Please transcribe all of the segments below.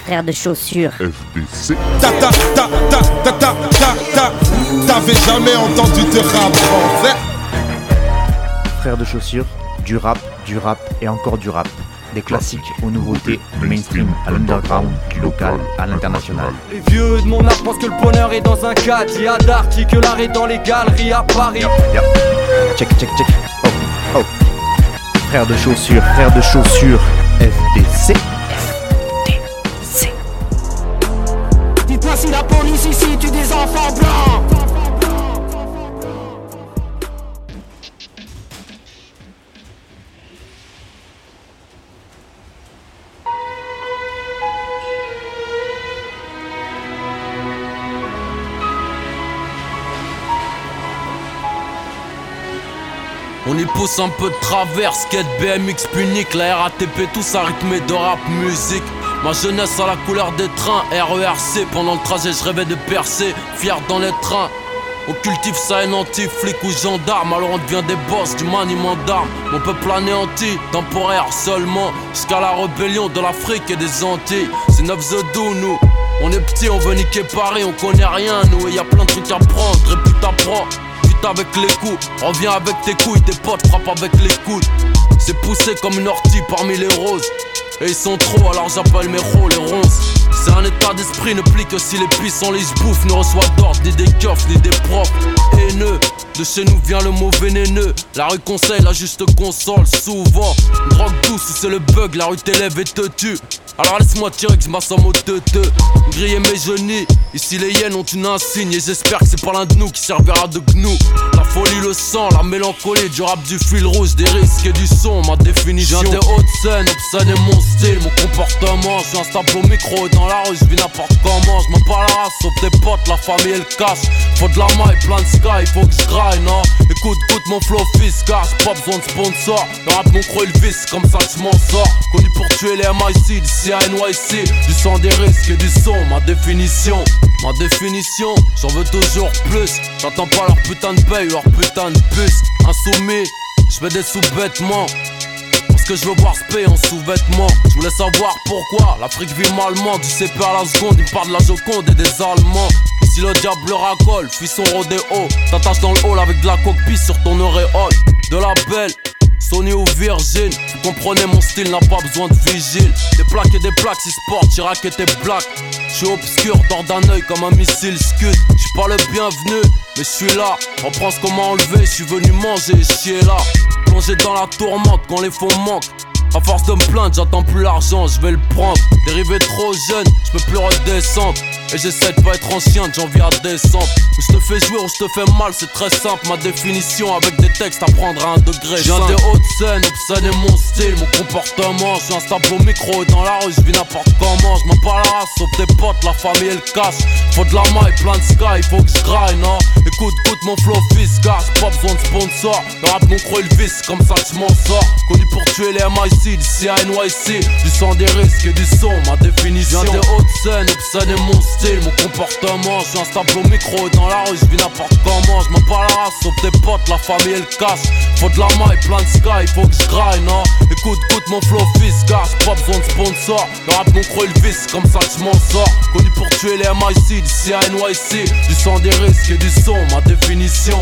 frère de chaussures. FDC. T'avais jamais entendu de rap français? Frère de chaussures, du rap et encore du rap. Des classiques aux nouveautés, du mainstream à l'underground, du local à l'international. Les vieux de mon âge pensent que le bonheur est dans un cadre. Y a d'arty que l'art est dans les galeries à Paris. Check. Oh. Frère de chaussures, FDC. Dites-moi si la police ici tue des enfants blancs. On y pousse un peu de travers, skate, BMX, punique, la RATP, tout ça rythmé de rap musique. Ma jeunesse à la couleur des trains, RERC, pendant le trajet je rêvais de percer, fier dans les trains. On cultive ça et anti-flic ou gendarme, alors on devient des boss du maniement d'armes. Mon peuple anéanti, temporaire seulement, jusqu'à la rébellion de l'Afrique et des Antilles. C'est 9 The Do, nous. On est petits, on veut niquer Paris, on connaît rien nous. Et y a plein de trucs à prendre, répute à prendre. Avec les coups, reviens avec tes couilles, tes potes frappent avec les coudes. C'est poussé comme une ortie parmi les roses. Et ils sont trop, alors j'appelle mes rôles les ronces. C'est un état d'esprit, ne plie que si les puissants les bouffent. Ne reçoit d'ordre, ni des keufs, ni des profs haineux. De chez nous vient le mot vénéneux. La rue conseille, la juste console, souvent. Une drogue douce, si c'est le bug, la rue t'élève et te tue. Alors laisse-moi tirer que je m'assomme au teuteux. Griller mes genoux, ici les hyènes ont une insigne. Et j'espère que c'est pas l'un de nous qui servira de gnou. La folie, le sang, la mélancolie, du rap, du fil rouge, des risques et du son, ma définition. Je viens des hautes scènes, obscène est mon style, mon comportement. Je suis instable au micro et dans la rue, je vis n'importe comment. Je m'en parle la race, sauf tes potes, la famille et le cash. Faut de la maille, plein de sky, faut que je graille, non. Écoute mon flow fiscal, j'ai pas besoin de sponsor. Le rap, mon croix, il visse, comme ça que je m'en sors. Connu pour tuer les MIC, d'ici à NYC. Du sang, des risques et du son, ma définition. Ma définition, j'en veux toujours plus. J'attends pas leur putain de paye, leur putain de puce. Insoumis, j'fais des sous-vêtements. Parce que je veux voir se payer en sous-vêtements. Je voulais savoir pourquoi l'Afrique vit malement. Du CP à la seconde, il parle de la Joconde et des Allemands. Si le diable racole, fuis son rodéo. T'attaches dans le hall avec de la coquille sur ton auréole. De la belle, Sony ou Virgin. Vous comprenez, mon style n'a pas besoin de vigile. Des plaques et des plaques, si sport, Chirac et tes black. J'suis obscur, dors d'un œil comme un missile scud. J'suis pas le bienvenu, mais j'suis là. Reprends ce qu'on m'a enlevé, j'suis venu manger et chier là. Plongé dans la tourmente quand les fonds manquent. À force de me plaindre, j'attends plus l'argent, je vais le prendre. Dérivé trop jeune, je peux plus redescendre. Et j'essaie de pas être en chien de janvier à décembre. Où je te fais jouer, où je te fais mal, c'est très simple. Ma définition avec des textes à prendre à un degré. Je viens des hautes scènes, obscène est mon style, mon comportement. Je suis instable au micro et dans la rue, je vis n'importe comment. Je m'en parle la race, sauf tes potes, la famille et le cash. Faut de la maille, plein de sky, faut que je graille, non. Écoute mon flow fiscal, j'ai pas besoin de sponsor. Le rap, mon croix, il visse, comme ça que je m'en sors. Connu pour tuer les MIC, d'ici à NYC. Du sang, des risques et du son, ma définition. Je viens des hautes scènes, obscène est mon style, mon comportement. Je suis instable au micro et dans la rue, je vis n'importe comment. Je m'en parle la race, sauf tes potes, la famille et le cash. Faut de la maille, plein de sky, faut que je graille, non. Écoute mon flow fiscal, j'ai pas besoin de sponsor. Le rap, mon croix, il visse, comme ça que je m'en sors. Connu pour tuer les MIC, d'ici à NYC. Du sang, des risques et du son, ma définition.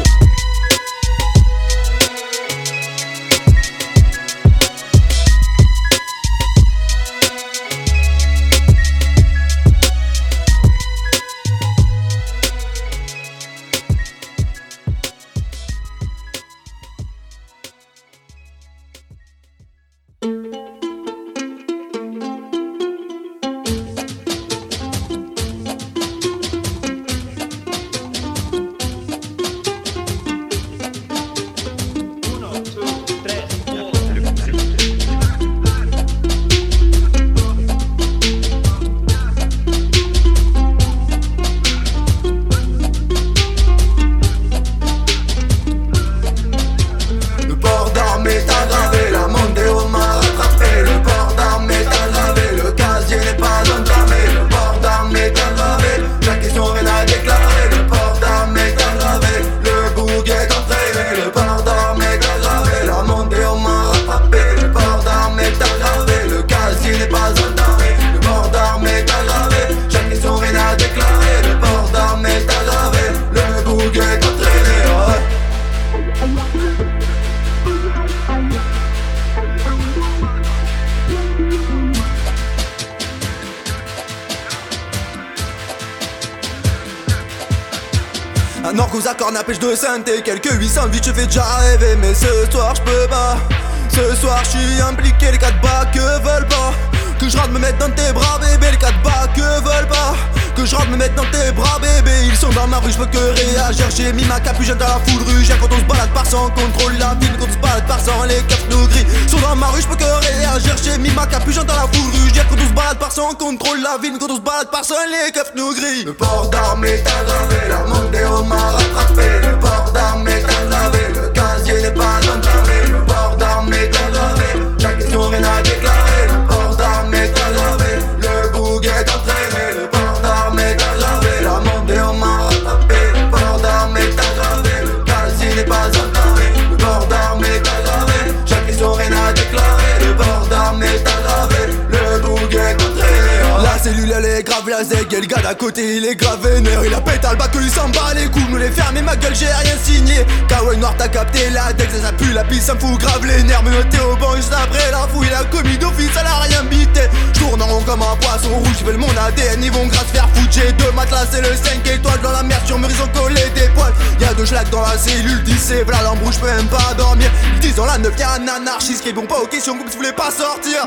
Un orque aux accords, pêche de synthé. Quelques 800 vies, je fais déjà rêver. Mais ce soir, je peux pas. Ce soir, je suis impliqué. Les 4 bas que veulent pas que je rentre me mettre dans tes bras, bébé. Les 4 bas que veulent pas que je rentre me mettre dans tes bras, bébé. Ils sont dans ma rue, je peux que réagir. J'ai mis ma capuchette dans la foule rue. Quand on se balade par sans contrôle la ville. Quand on se balade par sans les keufs nous gris sont dans ma rue, je peux que réagir. J'ai mis ma capuchette dans la foule rue. Quand on se balade par sans contrôle la ville. Quand on se balade par sans les keufs nous gris. Le port d'armes est aggravé. La Mondeo m'a rattrapé. Le port d'armes est aggravé. Le casier n'est pas entamé. Le port d'armes est aggravé. La question rien à déclarer. Le port d'armes est aggravé. Le boug est entraîné. Le port d'armes est aggravé. La Mondeo m'a rattrapé. Le port d'armes est aggravé. Le casier n'est pas entamé. Le port d'armes est aggravé. Chaque question rien à déclarer. Le port d'armes est aggravé. Le boug est entraîné. La cellule elle est grave la zeg. Et le gars d'à côté il est grave vénère. Il a pété le bac que lui s'en bat les coups. Nous les fermer ma gueule j'ai rien signé. Kawaii noir t'as capté la dex. Ça pue la pisse ça me fout grave les nerfs. Menotté au banc juste après la fouille. Il a commis d'office elle a rien bité. J'tourne en rond comme un poisson rouge. J'veux mon ADN ils vont grave se faire foutre. J'ai 2 matelas c'est le 5 étoiles. Dans la merde sur mur ils ont collé des poils. Y'a 2 schlags dans la cellule. 10 c'est v'là l'embrouche j'peux même pas dormir. Ils disent dans la 9 y'a un anarchiste qui répond pas aux questions comme si vous voulez pas sortir.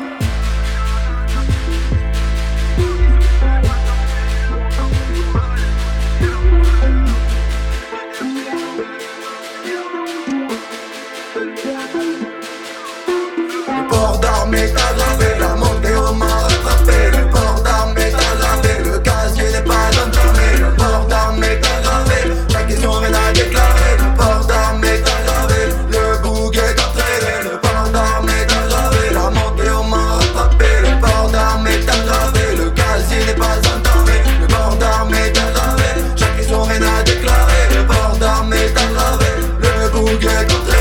Le port d'armes est aggravé, la Mondeo m'a rattrapé. Le port d'armes est aggravé, le casier n'est pas entamé. Le port d'armes est aggravé, la question rien à déclarer. Le port d'armes est aggravé, le boug est entraîné. Le port d'armes est aggravé, la Mondeo m'a rattrapé. Le port d'armes est aggravé, le casier n'est pas entamé. Le port d'armes est aggravé, chaque question rien à déclarer. Le port d'armes est aggravé, le boug est entraîné.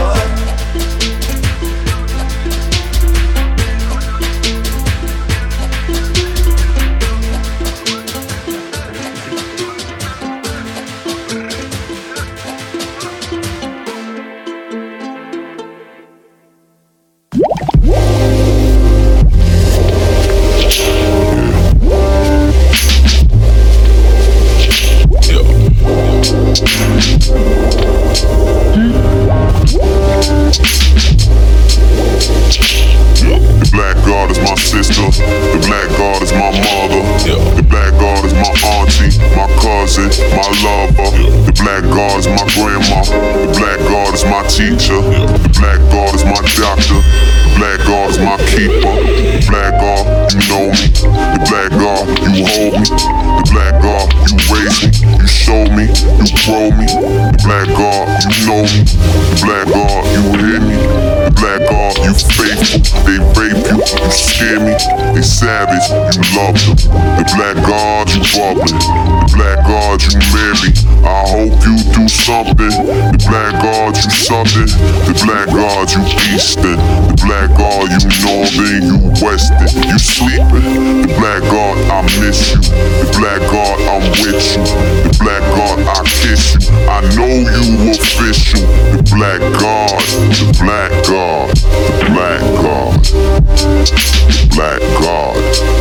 The black god is my sister, the black god is my mother, the black god is my auntie, my cousin, my lover, the black god is my grandma, the black god is my teacher, the black god is my doctor, the black god is my keeper, the black god, you know me, the black god, you hold me, the black god, you raise me, you show me, you grow me, the black god, you know me, the black god, you hear me, the black god, you faithful, they rape you, you scare me, they savage, you love them, the black god, you bubbling, the black god, you marry, I hope you do something, the black god, you southern, the black god, you eastern, the black god, you northern, you western, you sleeping, the black god, I miss you, the black god, I'm with you, the black god, I kiss you, I know you official, the black god, the black god, the black god, the black god,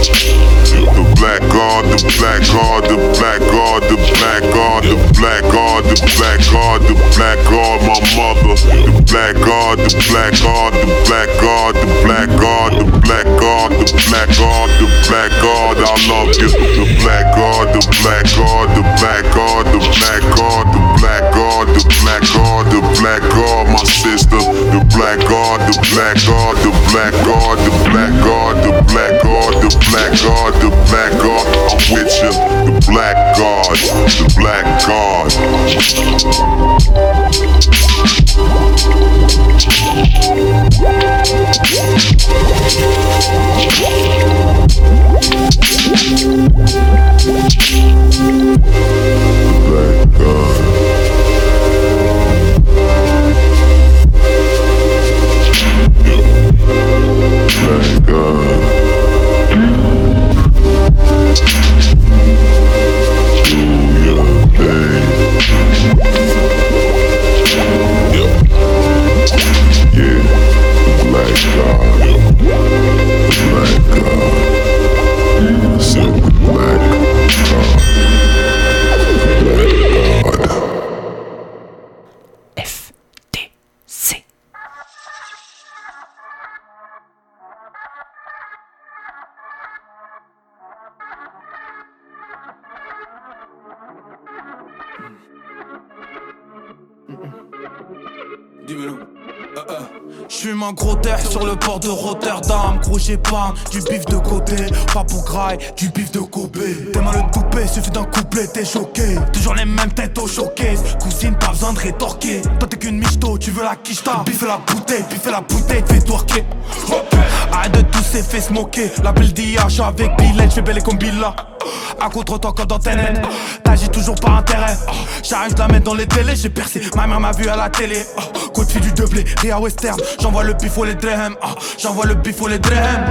the black god, the black god, the black god, the black god, the black god, the black god, the black god, my mother, the black god, the black god, the black god, the black god, the black god, the black god, the black god, I love you, the black god, the black god, the black god, the black god, the black god, the black god, the black god, my sister, the black god, the black god, the black god, the black god, the black god, the black god, the black god, I'm with you, the black god, the black god. Black god. Black god. Do your thing. Dis-moi-le. J'fume un gros terre sur le port de Rotterdam. Gros j'ai pas du bif de côté, pas pour graille, du bif de Kobe. T'es mal le coupé, suffit d'un couplet, t'es choqué. Toujours les mêmes têtes au showcase, cousine pas besoin de rétorquer. Toi t'es qu'une michto, tu veux la quicheta. Biffer la bouteille, fais twerker. Arrête de tous ces faits se moquer. La belle d'IA, j'suis avec Billet, j'fais belle comme Billa. À contre-temps comme dans TNN, t'agis toujours par intérêt. J'arrive de la mettre dans les télés, j'ai percé, ma mère m'a vu à la télé. Coup de fil du doublé, Ria Western, j'envoie le bif ou les drehem. J'envoie le bif ou les drehem.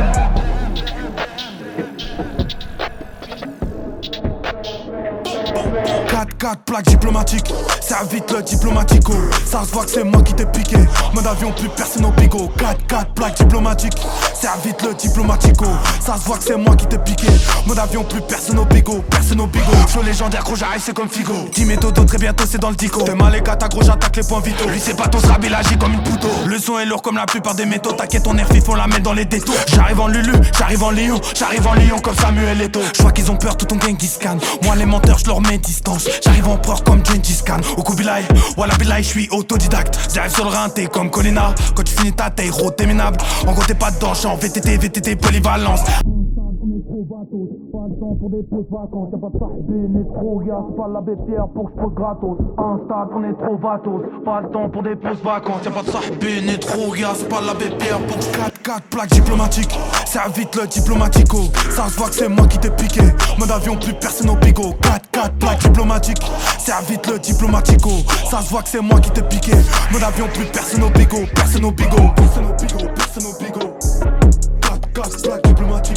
4 plaques diplomatiques, serre vite le diplomatico. Ça se voit que c'est moi qui t'ai piqué. Mode avion, plus personne au bigot. 4 plaques diplomatiques, serre vite le diplomatico. Ça se voit que c'est moi qui t'ai piqué. Mode avion, plus personne au bigot. Show légendaire, gros j'arrive, c'est comme Figo. 10 méthodos, très bientôt c'est dans le dico. T'es mal les gars, gros j'attaque les points vitaux. Lui c'est pas ton srab, il agit comme une pouto. Le son est lourd comme la plupart des métaux. T'inquiète, ton air vif, on la met dans les détours. J'arrive en Lulu, j'arrive en Lion comme Samuel Eto'o. J'vois qu'ils ont peur, tout ton gang scan. Moi les menteurs, j'leur mets distance. J'arrive en empereur comme Gengis Khan. Au Kubilai, Wallah Bilai, j'suis autodidacte. J'arrive sur le rinté comme Colina. Quand tu finis ta taille, t'es minable. En gros t'es pas dedans, j'suis en VTT, polyvalence. Pas le temps pour des pauses vacances, y'a pas de sarbine, trop gars, c'est pas l'abbé Pierre pour que j'pose gratos. Un stade, on est trop vatos, pas le temps pour des pauses vacances, y'a pas de sarbine, trop gars, c'est pas l'abbé Pierre pour que 4 plaques diplomatiques, serre vite le diplomatico. Ça se voit que c'est moi qui t'ai piqué, mode avion plus personne au bigot. 4 plaques diplomatiques, serre vite le diplomatico. Ça se voit que c'est moi qui t'ai piqué, mode avion plus personne au bigot. 4 plaques diplomatiques.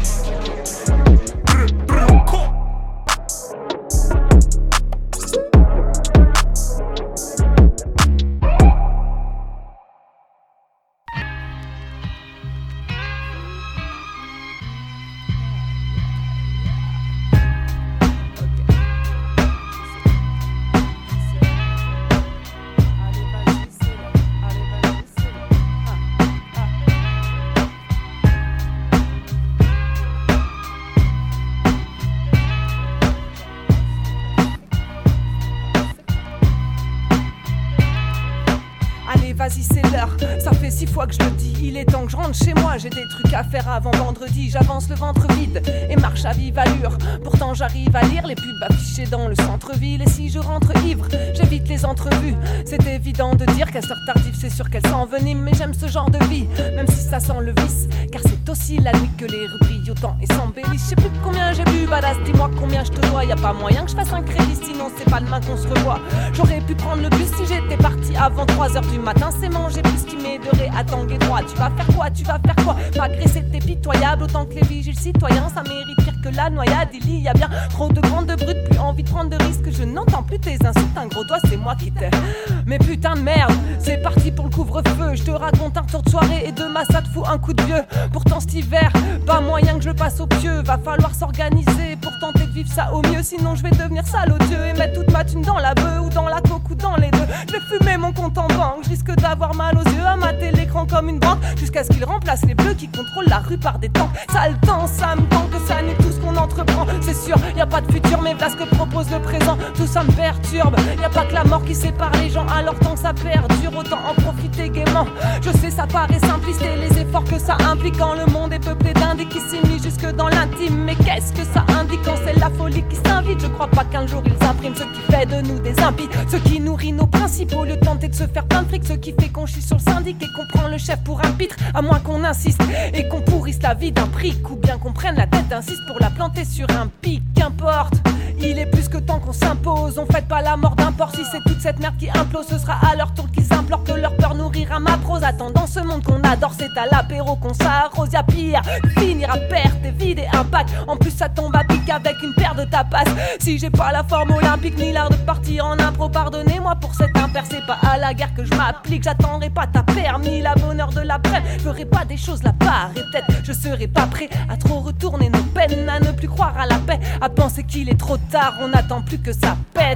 Vas-y c'est l'heure, ça fait 6 fois que je le dis. Il est temps que je rentre chez moi, j'ai des trucs à faire avant vendredi. J'avance le ventre vide et marche à vive allure. Pourtant j'arrive à lire les pubs affichées dans le centre-ville. Et si je rentre ivre, j'évite les entrevues. C'est évident de dire qu'à cette heure tardive c'est sûr qu'elle s'envenime. Mais j'aime ce genre de vie, même si ça sent le vice. Car c'est aussi la nuit que les rues brillent autant et s'embellissent. Je sais plus combien j'ai bu, badass, dis-moi combien je te dois. Y'a pas moyen que je fasse un crédit, sinon c'est pas demain qu'on se revoit. J'aurais pu prendre le bus si j'étais parti avant 3h du matin. C'est manger plus qui m'aiderait à tanguer droit. Tu vas faire quoi? M'agresser t'es pitoyable autant que les vigiles citoyens. Ça mérite pire que la noyade. Il y a bien trop de grandes brutes, plus envie de prendre de risques. Je n'entends plus tes insultes, un gros doigt c'est moi qui t'ai. Mais putain de merde, c'est parti pour le couvre-feu. Je te raconte un retour de soirée et demain ça te fout un coup de vieux. Pourtant cet hiver, pas moyen que je passe au pieu. Va falloir s'organiser pour tenter de vivre ça au mieux. Sinon je vais devenir sale odieux et mettre toute ma thune dans la bœuf ou dans la coke ou dans les deux. Je vais fumer mon compte en banque, je risque d'avoir mal aux yeux, à mater l'écran comme une banque, jusqu'à ce qu'il remplace les bleus qui contrôlent la rue par des tanks. Ça le temps, ça me tente que ça nuit tout ce qu'on entreprend. C'est sûr, y a pas de futur, mais voilà ce que propose le présent. Tout ça me perturbe, y a pas que la mort qui sépare les gens. Alors tant que ça perdure, autant en profiter gaiement. Je sais ça paraît simpliste et les efforts que ça implique quand le monde est peuplé d'indices qui s'immiscent jusque dans l'intime. Mais qu'est-ce que ça indique quand c'est la folie qui s'invite? Je crois pas qu'un jour ils impriment ce qui fait de nous des impies, ce qui nourrit nos principes au lieu de tenter de se faire plein de fric, ce qui fait qu'on chie sur le syndic et qu'on prend le chef pour un pitre, à moins qu'on insiste et qu'on pourrisse la vie d'un pric, ou bien qu'on prenne la tête d'un cis pour la planter sur un pic. Qu'importe, il est plus que temps qu'on s'impose. On fête pas la mort d'un porc, si c'est toute cette merde qui implose, ce sera à leur tour qu'ils implorent que leur peur nourrira ma prose. Attendant ce monde qu'on adore, c'est à l'apéro qu'on s'arrose. Y'a pire, finir à perte et vide et impact. En plus ça tombe à pic avec une paire de tapas. Si j'ai pas la forme olympique ni l'art de partir en impro, pardonnez-moi pour cette impair. C'est pas à la guerre que je m'applique, j'attendrai pas ta paire ni la bonne heure de l'après. Je ferai pas des choses la part et peut-être je serai pas prêt à trop retourner nos peines, à ne plus croire à la paix, à penser qu'il est trop tard, on n'attend plus que ça pète.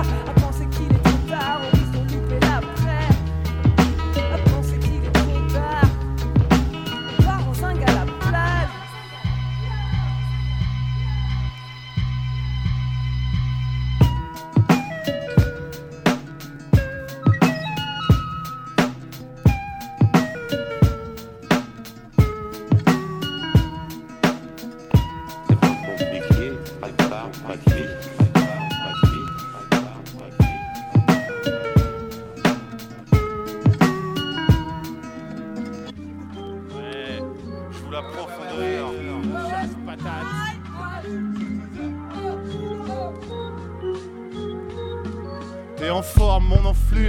À penser qu'il est trop tard,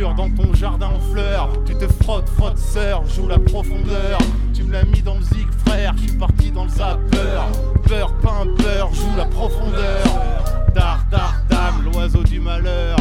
dur dans ton jardin en fleurs. Tu te frottes, sœur, joue la profondeur. Tu me l'as mis dans le zig, frère, je suis parti dans le zapper. Peur, pain, peur, joue la profondeur. Dar, dame, l'oiseau du malheur.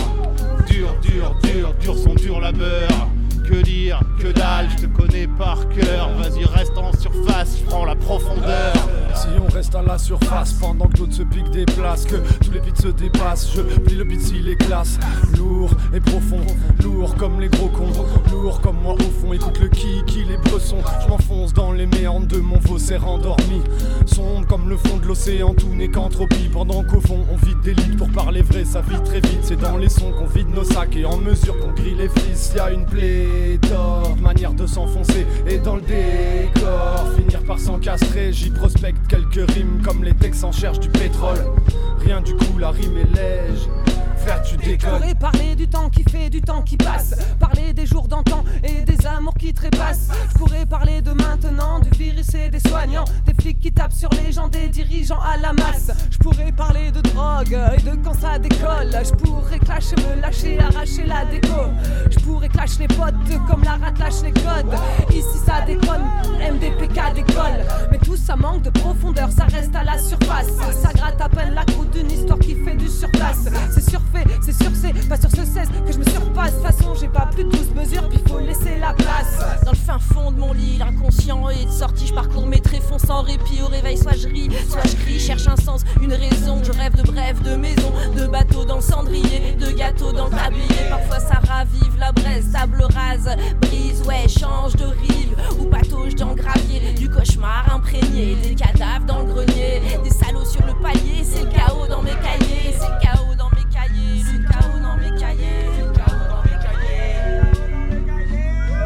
Dur son dur labeur. Que dire, que dalle, je te connais par cœur. Vas-y, reste en surface, je prends la profondeur. Si on reste à la surface pendant que d'autres se piquent des places, que tous les beats se dépassent, je plie le beat s'il est classe. Lourd et profond, lourd comme les gros cons, lourd comme moi au fond. Écoute le qui les bressons, je m'enfonce dans les méandres de mon faussaire endormi. Sombre comme le fond de l'océan, tout n'est qu'entropie. Pendant qu'au fond on vide des litres, pour parler vrai ça vit très vite. C'est dans les sons qu'on vide nos sacs et en mesure qu'on grille les fils. Y'a une pléthore de manière de s'enfoncer et dans le décor finir par s'encastrer. J'y prospecte quelques rimes comme les Texans cherchent du pétrole. Rien du coup, la rime est lège. Frère, tu déconnes. Je pourrais parler du temps qui fait, du temps qui passe. Parler des jours d'antan et des amours qui trépassent. Je pourrais parler de maintenant, du virus et des soignants, des flics qui tapent sur les gens, des dirigeants à la masse. Je pourrais parler de drogue et de quand ça décolle. Je pourrais clasher, me lâcher, arracher la déco. Je pourrais clasher les potes comme la rate lâche les codes. Ici ça déconne, MDPK décolle. Mais tout ça manque de profondeur, ça reste à la surface. Ça gratte à peine la croûte d'une histoire qui fait du surplace. C'est surfait, c'est sur C, pas sur ce 16 que je me surpasse. De toute façon j'ai pas plus de 12 mesures, puis faut laisser la place. Dans le fin fond de mon lit, l'inconscient est sorti. Je parcours mes tréfonds sans répit. Au réveil soit je ris, soit je crie. Cherche un sens, une raison. Je rêve de brèves, de maisons, de bateaux dans le cendrier, de gâteaux dans le tablier. Parfois ça ravive la braise, table rase, brise, ouais, change de rive ou patauge dans le gravier. Du cauchemar imprégné, des cadavres dans le grenier, des salauds sur le palier. C'est le chaos dans mes cahiers, c'est le chaos dans mes cahiers, c'est le chaos dans mes cahiers, c'est le chaos dans mes cahiers.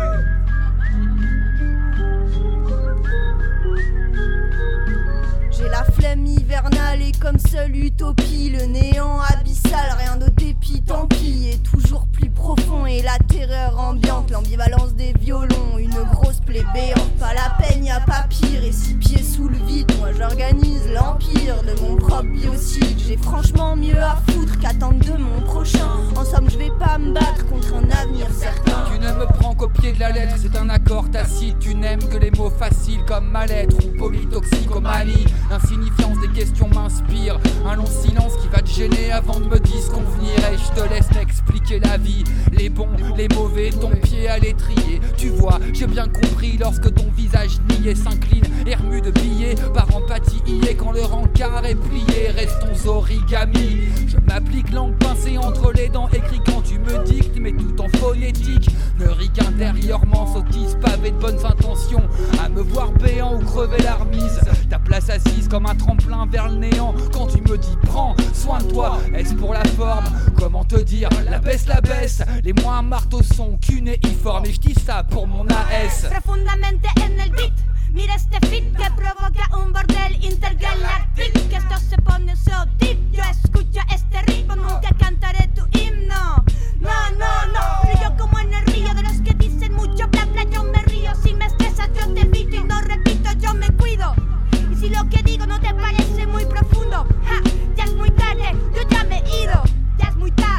J'ai la flemme hivernale et comme seule utopie, le néant abyssal, rien de dépit, tant pis. Et toujours plus profond et la terreur ambiante, l'ambivalence des violons, une grosse plaie béante. Pas la peine, y a pas pire, et 6 pieds sous le vide, moi j'organise l'empire de mon propre biocide. J'ai franchement mieux à foutre qu'attendre de mon prochain. En somme, je vais pas me battre contre un avenir certain. Tu ne me prends qu'au pied de la lettre, c'est un accord tacite. Tu n'aimes que les mots faciles comme mal-être ou polytoxicomanie. L'insignifiance des questions m'inspire. Un long silence qui va te gêner avant de me disconvenir. Et je te laisse m'expliquer la vie. Les bons, les mauvais, ton pied à l'étrier. Tu vois, j'ai bien compris lorsque ton visage niais s'incline et remue de billets. Par empathie y est quand le rencard est plié. Restons origami. Je m'applique langue pincée entre les dents. Écrit quand tu me dictes, mais tout en phonétique. Ne ris qu'intérieurement, sottise pavé de bonnes intentions. À me voir béant ou crever la remise. Ta place assise comme un tremplin vers le néant. Quand tu me dis prends soin de toi, est-ce pour la forme? Comment te dire, la baisse. Les moins marteaux sont cunéiformes. Et je dis ça pour mon AS. Profundamente en el beat. Mira este fit que provoca un bordel intergaláctico. Que esto se pone so deep. Yo escucho este ritmo, nunca cantaré tu himno. No, fluyo como en el río. De los que dicen mucho bla bla yo me río. Si me estresas yo te evito y no repito, yo me cuido. Y si lo que digo no te parece muy profundo, ja, ya es muy tarde, yo ya me he ido. Ya es muy tarde,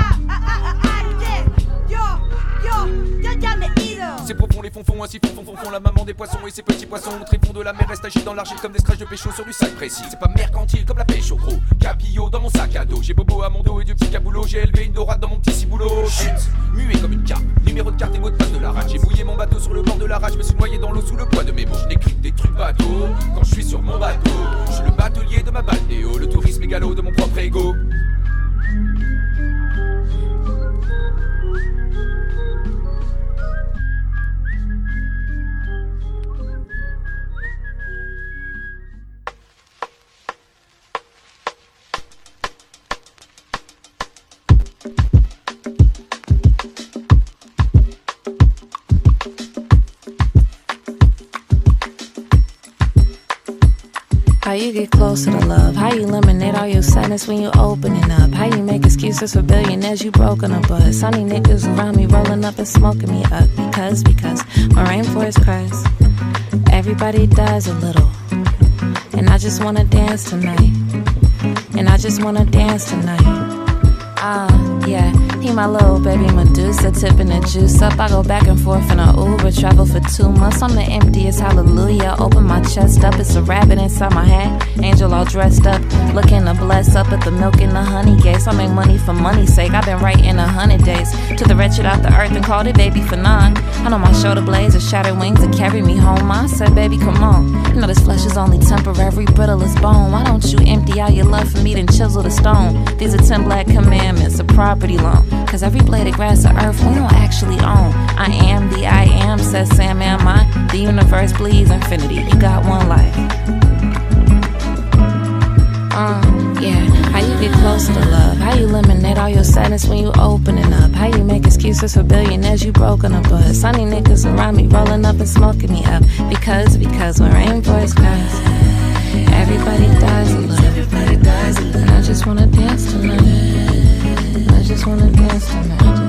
yo ya me he ido. C'est profond les fonds, ainsi fond la maman des poissons et ses petits poissons. Tréfonds de la mer restent agis dans l'argile comme des scratchs de pécho sur du sac précis. C'est pas mercantile comme la pêche au gros. Cabillaud dans mon sac à dos. J'ai bobo à mon dos et du petit caboulot. J'ai élevé une dorade dans mon petit ciboulot. Chut, muet comme une carpe. Numéro de carte et mot de passe de la rage. J'ai mouillé mon bateau sur le bord de la rage. Je me suis noyé dans l'eau sous le poids de mes mots. Je n'écris que des trucs bateaux quand je suis sur mon bateau. Je suis le batelier de ma balnéo. Le tourisme égalo de mon propre ego. How you get closer to love? How you eliminate all your sadness when you opening up? How you make excuses for billionaires you broken a buzz? Sunny niggas around me rolling up and smoking me up because my rainforest cries. Everybody dies a little, and I just wanna dance tonight. And I just wanna dance tonight. Yeah. He my little baby Medusa, tipping the juice up. I go back and forth in a Uber, travel for 2 months. I'm the emptiest, hallelujah. Open my chest up, it's a rabbit inside my hat. Angel all dressed up, looking to bless up at the milk and the honey gates. I make money for money's sake, I've been writing 100 days. Took the wretched out the earth and called it baby for none. I know my shoulder blades are shattered wings that carry me home. I said, baby, come on. You know this flesh is only temporary, brittle as bone. Why don't you empty out your love for me, then chisel the stone? These are 10 black commandments, a property loan. Cause every blade of grass or earth we don't actually own. I am the I am, says Sam, am I? The universe bleeds infinity, you got one life. Yeah, how you get closer to love? How you eliminate all your sadness when you opening up? How you make excuses for billionaires you broken up? But sunny niggas around me rolling up and smoking me up. Because when rainbows cries, everybody dies a little. Everybody dies a little. And I just wanna dance tonight. I just wanna dance tonight.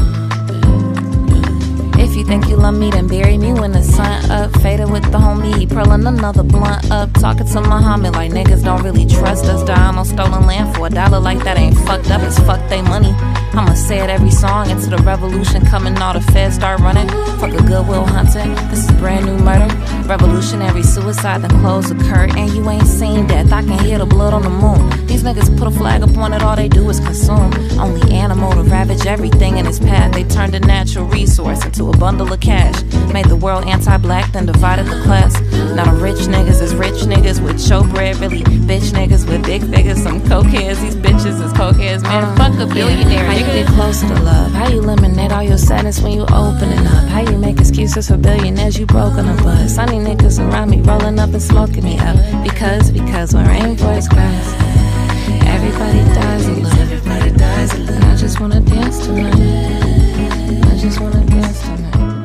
If you think you love me, then bury me when the sun up. Faded with the homie, he purling another blunt up. Talking to Muhammad like niggas don't really trust us. Dying on stolen land for $1 like that ain't fucked up. It's fuck they money. I'ma say it every song into the revolution coming. All the feds start running. Fuck a Goodwill Hunting. This is brand new murder. Revolutionary suicide, then close the curtain. And you ain't seen death. I can hear the blood on the moon. These niggas put a flag up on it. All they do is consume. Only animal to ravage everything in its path. They turned a natural resource into a bundle of cash. Made the world anti-black, then divided the class. Now the rich niggas is rich niggas with showbread. Really bitch niggas with big figures. Some cokeheads, these bitches is cokeheads. Man, fuck a billionaire. How you get closer to love? How you eliminate all your sadness when you opening up? How you make excuses for billionaires you broken up? But sunny niggas around me rolling up and smoking me up. Because when rainbows cries, everybody dies a little. Everybody dies a little. And I just wanna dance tonight. I just wanna dance tonight.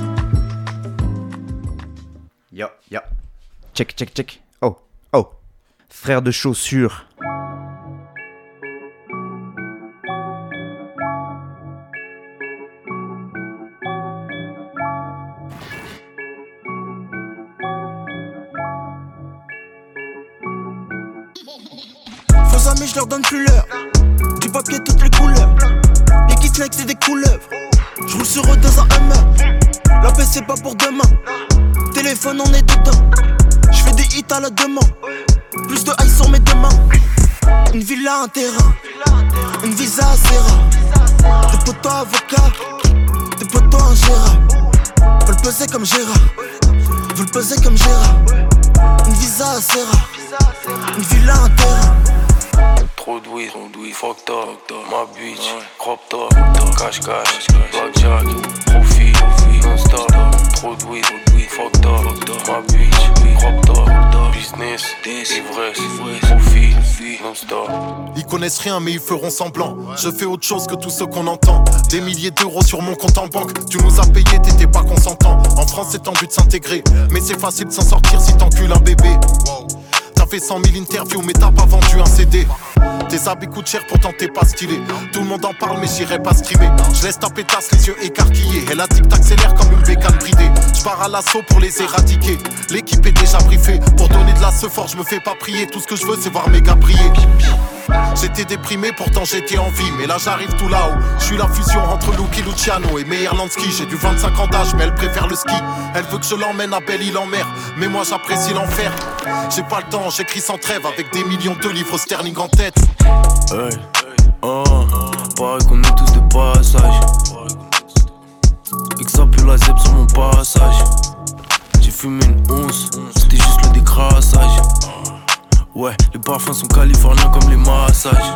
Yo. Check. Oh. Frère de chaussures. Faux amis, je leur donne plus l'heure. Du papier, toutes les couleurs. Les kids snakes, c'est des couleuvres. Je roule sur eux dans un Hummer. La paix, c'est pas pour demain. Téléphone, on est dedans. Je fais des hits à la demande. Plus de high sur mes deux mains. Une villa, un terrain. Une visa assez rare. Des potos avocats. Des potos ingérables. Veulent peser comme Gérard. Veulent peser comme Gérard. Une visa assez rare. Une villa, un terrain. Trop de weed, fucked up, ma bitch, crop top, cash, blackjack, profit, non-stop. Trop de weed, fucked up, ma bitch, crop top, business, ivresse, profit, non-stop. Ils connaissent rien mais ils feront semblant. Je fais autre chose que tout ce qu'on entend. Des milliers d'euros sur mon compte en banque. Tu nous as payé, t'étais pas consentant. En France c'est tendu de s'intégrer, mais c'est facile de s'en sortir si t'encules un bébé. T'as fait 100 000 interviews mais t'as pas vendu un CD. Tes habits coûtent cher pourtant t'es pas stylé. Tout le monde en parle mais j'irai pas streamer. Je laisse ta pétasse les yeux écarquillés. Elle a dit que t'accélères comme une bécane bridée. J'pars à l'assaut pour les éradiquer. L'équipe est déjà briefée. Pour donner de la sephore je me fais pas prier. Tout ce que je veux c'est voir mes gars briller. J'étais déprimé pourtant j'étais en vie. Mais là j'arrive tout là-haut. Je suis la fusion entre Lucky Luciano et Meyer Lansky. J'ai du 25 ans d'âge mais elle préfère le ski. Elle veut que je l'emmène à Belle-Île en mer. Mais moi j'apprécie l'enfer. J'ai pas le temps, j'écris sans trêve. Avec des millions de livres sterling en tête. Hey, pareil qu'on est tous de passage. Et que ça pue la zèbre sur mon passage. J'ai fumé une once, c'était juste le décrassage. Ouais, les parfums sont californiens comme les massages.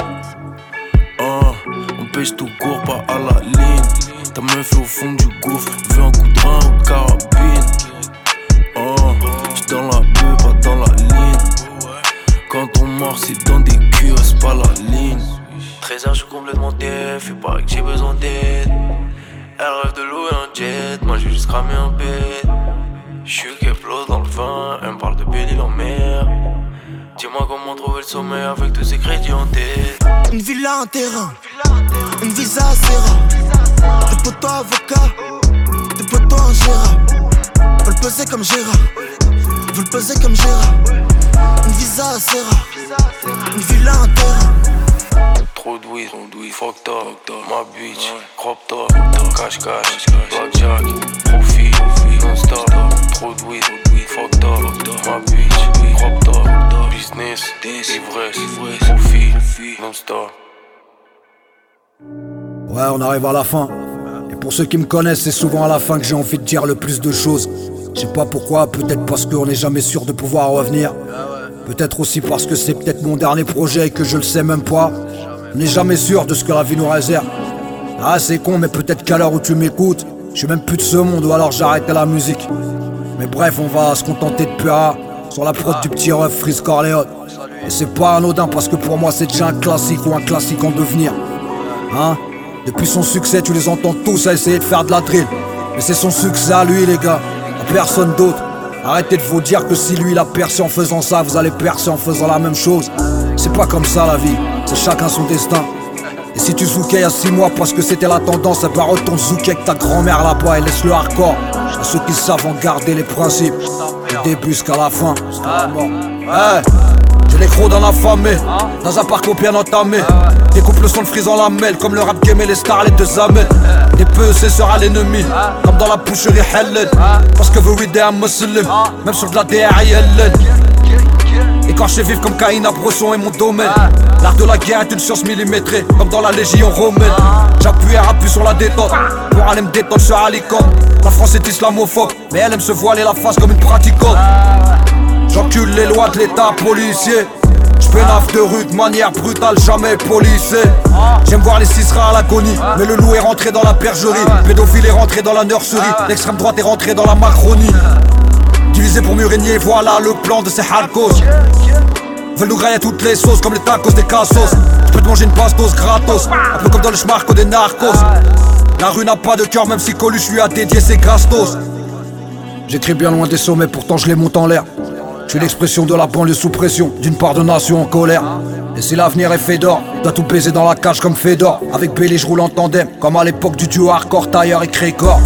On pêche tout court, pas à la ligne. Ta meuf est au fond du gouffre, veux un coup de rein ou de carabine. J'suis dans la beuh, pas dans la ligne. Quand on mord, c'est dans des cures, c'est pas la ligne. 13h, j'suis complètement def, et paraît que j'ai besoin d'aide. Elle rêve de louer un jet, moi j'ai juste cramé un bête. J'suis Keplo dans le vin, elle me parle de Belle-Île en mer. Dis-moi comment trouver le sommeil avec tous ces crédits en tête. Une villa, un terrain, une visa assez rare. Des potos avocats, des potos ingérables. Veulent peser comme Gérard, veulent peser comme Gérard. Une visa assez rare, une villa, un terrain. trop de weed, fuck top, ma bitch, crop top, cash, blackjack, profit, non-stop, trop de weed, fuck top, ma bitch, crop top, business, ivresse, profit, non-stop. Ouais, on arrive à la fin. Et pour ceux qui me connaissent, c'est souvent à la fin que j'ai envie de dire le plus de choses. Je sais pas pourquoi, peut-être parce qu'on n'est jamais sûr de pouvoir revenir. Peut-être aussi parce que c'est peut-être mon dernier projet et que je le sais même pas. On n'est jamais sûr de ce que la vie nous réserve. Ah, c'est con, mais peut-être qu'à l'heure où tu m'écoutes, je suis même plus de ce monde ou alors j'arrête la musique. Mais bref, on va se contenter de Pura sur la prod du petit ref Freeze Corleone. Et c'est pas anodin parce que pour moi c'est déjà un classique ou un classique en devenir. Hein? Depuis son succès, tu les entends tous à essayer de faire de la drill. Mais c'est son succès à lui, les gars, à personne d'autre. Arrêtez de vous dire que si lui il a percé en faisant ça, vous allez percer en faisant la même chose. C'est pas comme ça la vie, c'est chacun son destin. Et si tu zoukais il y a 6 mois parce que c'était la tendance, et bah retourne zouker avec ta grand-mère là-bas et laisse le hardcore à ceux qui savent en garder les principes, du début jusqu'à la fin, jusqu'à la mort. Hey, j'ai les crocs dans la famille, dans un parcours bien entamé. Découpe le son de Freeze en lamelle, comme le rap game et les starlets de Zamel. Des PEC sera l'ennemi, comme dans la boucherie Helen. Parce que vous readez un muslim, même sur de la DRILN. Et quand je sais vivre comme Kaina Bresson est mon domaine. L'art de la guerre est une science millimétrée, comme dans la légion romaine. J'appuie et rappuie sur la détente, pour aller me détendre sur Alicante. La France est islamophobe, mais elle aime se voiler la face comme une pratiquante. J'encule les lois de l'état policier. J'pénave de rue de manière brutale, jamais policé. J'aime voir les ciseras à l'agonie, mais le loup est rentré dans la bergerie. Pédophile est rentré dans la nurserie, l'extrême droite est rentrée dans la Macronie. Divisé pour mieux régner, voilà le plan de ces hardcos. Veulent nous grailler à toutes les sauces comme les tacos des cassos. J'peux te manger une pastos gratos, un peu comme dans le schmarco des narcos. La rue n'a pas de cœur, même si Coluche lui a dédié ses gastos. J'écris bien loin des sommets, pourtant je les monte en l'air. Je suis l'expression de la banlieue sous pression, d'une part de nation en colère. Et si l'avenir est fait d'or, dois tout baiser dans la cage comme Fedor. Avec Bailey je roule en tandem, comme à l'époque du duo hardcore Tailleur et Crécor.